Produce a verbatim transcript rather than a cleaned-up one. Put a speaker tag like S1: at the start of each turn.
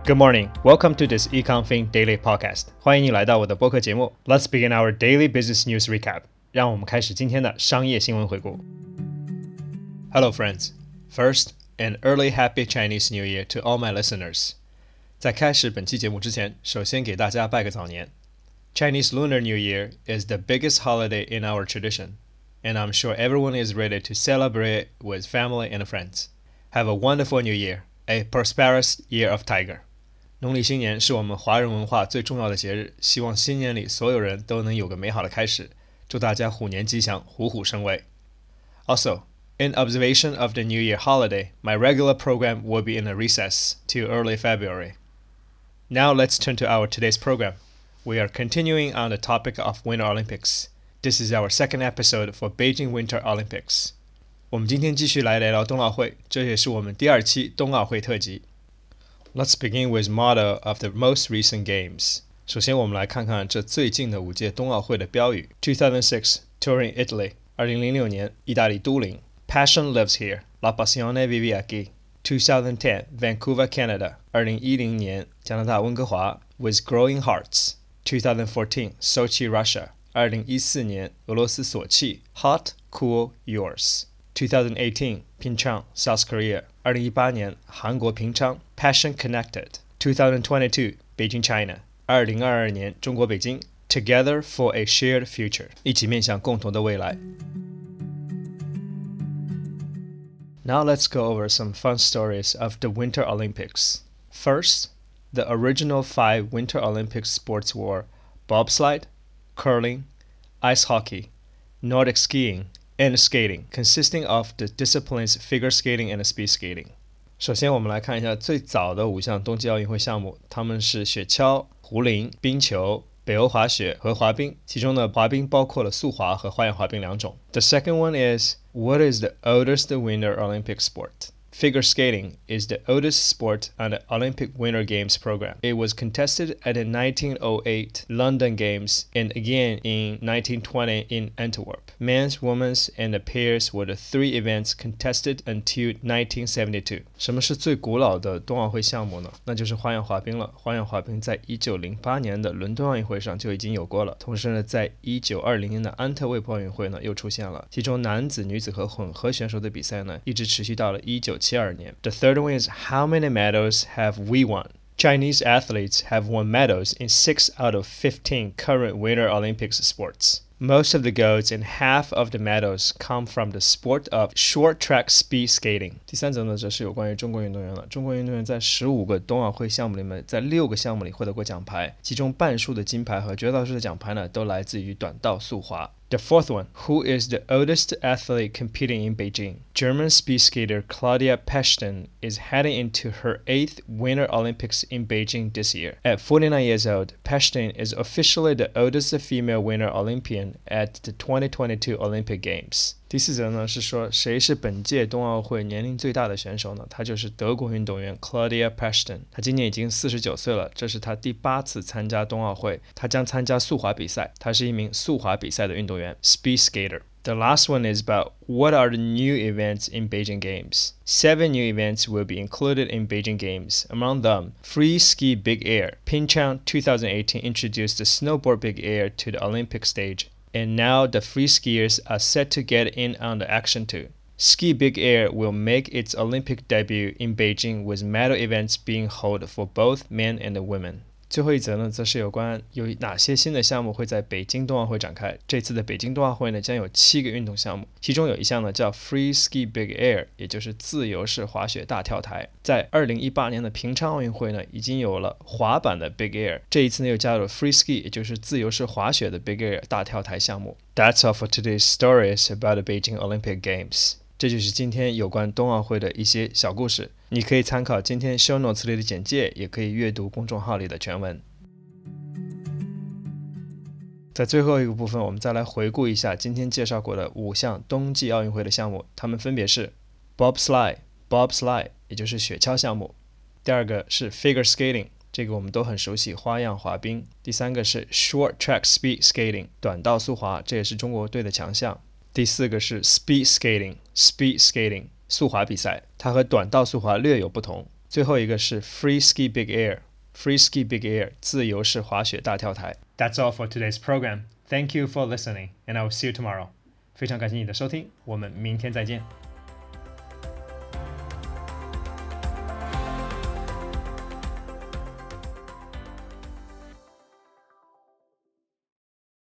S1: Good morning. Welcome to this EconFin Daily Podcast. 欢迎你来到我的播客节目。Let's begin our daily business news recap. 让我们开始今天的商业新闻回顾。Hello, friends. First, an early happy Chinese New Year to all my listeners. 在开始本期节目之前，首先给大家拜个早年。Chinese Lunar New Year is the biggest holiday in our tradition, and I'm sure everyone is ready to celebrate with family and friends. Have a wonderful New Year, a prosperous year of Tiger. 农历新年是我们华人文化最重要的节日，希望新年里所有人都能有个美好的开始，祝大家虎年吉祥，虎虎生威。Also, in observation of the New Year holiday, my regular program will be in a recess till early February. Now let's turn to our today's program. We are continuing on the topic of Winter Olympics. This is our second episode for Beijing Winter Olympics. 我们今天继续来聊聊冬奥会，这也是我们第二期冬奥会特辑。Let's begin with motto of the most recent games. 首先我们来看看这最近的五届冬奥会的标语。two thousand six, Turin, Italy. 二零零六年，意大利都灵。Passion lives here. La passione vive aquí. twenty ten, Vancouver, Canada. 二零一零年，加拿大温哥华。With growing hearts. twenty fourteen, Sochi, Russia. 二零一四年，俄罗斯索契。Hot, cool, yours. twenty eighteen, Pyeongchang, South Korea. 二零一八年，韩国平昌。Passion connected. twenty twenty-two, Beijing, China. 二零二二年，中国北京。Together for a shared future. 一起面向共同的未来。Now let's go over some fun stories of the Winter Olympics. First, the original five Winter Olympic sports were bobsled, curling, ice hockey, Nordic skiing, and skating, consisting of the disciplines figure skating and speed skating. 首先我们来看一下最早的五项冬季奥运会项目，它们是雪橇、壶铃、冰球、北欧滑雪和滑冰，其中呢滑冰包括了速滑和花样滑冰两种。The second one is, what is the oldest Winter Olympic sport? Figure skating is the oldest sport on the Olympic Winter Games program. It was contested at the nineteen oh eight London Games and again in nineteen twenty in Antwerp. Men's, women's, and the pairs were the three events contested until nineteen seventy-two. 什么是最古老的冬奥会项目呢？那就是花样滑冰了。花样滑冰在一九零八年的伦敦奥运会上就已经有过了，同时呢，在一九二零年的安特卫普奥运会呢又出现了。其中男子、女子和混合选手的比赛呢，一直持续到了一九七二年。The third one is, how many medals have we won? Chinese athletes have won medals in six out of fifteen current Winter Olympics sports. Most of the golds and half of the medals come from the sport of short track speed skating. 第三则呢，则是有关于中国运动员了。中国运动员在十五个冬奥会项目里面，在六个项目里获得过奖牌，其中半数的金牌和绝大多数的奖牌呢，都来自于短道速滑。The fourth one, who is the oldest athlete competing in Beijing? German speed skater Claudia Pechstein is heading into her eighth Winter Olympics in Beijing this year. At forty-nine years old, Pechstein is officially the oldest female Winter Olympian at the twenty twenty-two Olympic Games. 第四则呢是说谁是本届冬奥会年龄最大的选手呢？她就是德国运动员 Claudia Pechstein。她今年已经四十九岁了，这是她第八次参加冬奥会。她将参加速滑比赛，她是一名速滑比赛的运动员 ，speed skater. The last one is about what are the new events in Beijing Games. Seven new events will be included in Beijing Games. Among them, free ski big air. Pyeongchang twenty eighteen introduced the snowboard big air to the Olympic stage. And now the free skiers are set to get in on the action too. Ski Big Air will make its Olympic debut in Beijing with medal events being held for both men and women. 最后一则呢，则是有关有哪些新的项目会在北京冬奥会展开。这次的北京冬奥会呢，将有七个运动项目，其中有一项呢叫 Free Ski Big Air， 也就是自由式滑雪大跳台。在二零一八年的平昌奥运会呢，已经有了滑板的 Big Air， 这一次呢又加入了 Free Ski， 也就是自由式滑雪的 Big Air 大跳台项目。That's all for today's stories about the Beijing Olympic Games. 这就是今天有关冬奥会的一些小故事，你可以参考今天 show notes 里的简介，也可以阅读公众号里的全文。在最后一个部分，我们再来回顾一下今天介绍过的五项冬季奥运会的项目，它们分别是 bobsled, bobsled 也就是雪橇项目。第二个是 figure skating， 这个我们都很熟悉，花样滑冰。第三个是 short track speed skating， 短道速滑，这也是中国队的强项。第四个是 speed skating, speed skating 速滑比赛，它和短道速滑略有不同。 最后一个是 Free Ski Big Air Free Ski Big Air 自由式滑雪大跳台。 That's all for today's program. Thank you for listening, and I will see you tomorrow. 非常感谢你的收听，我们明天再见。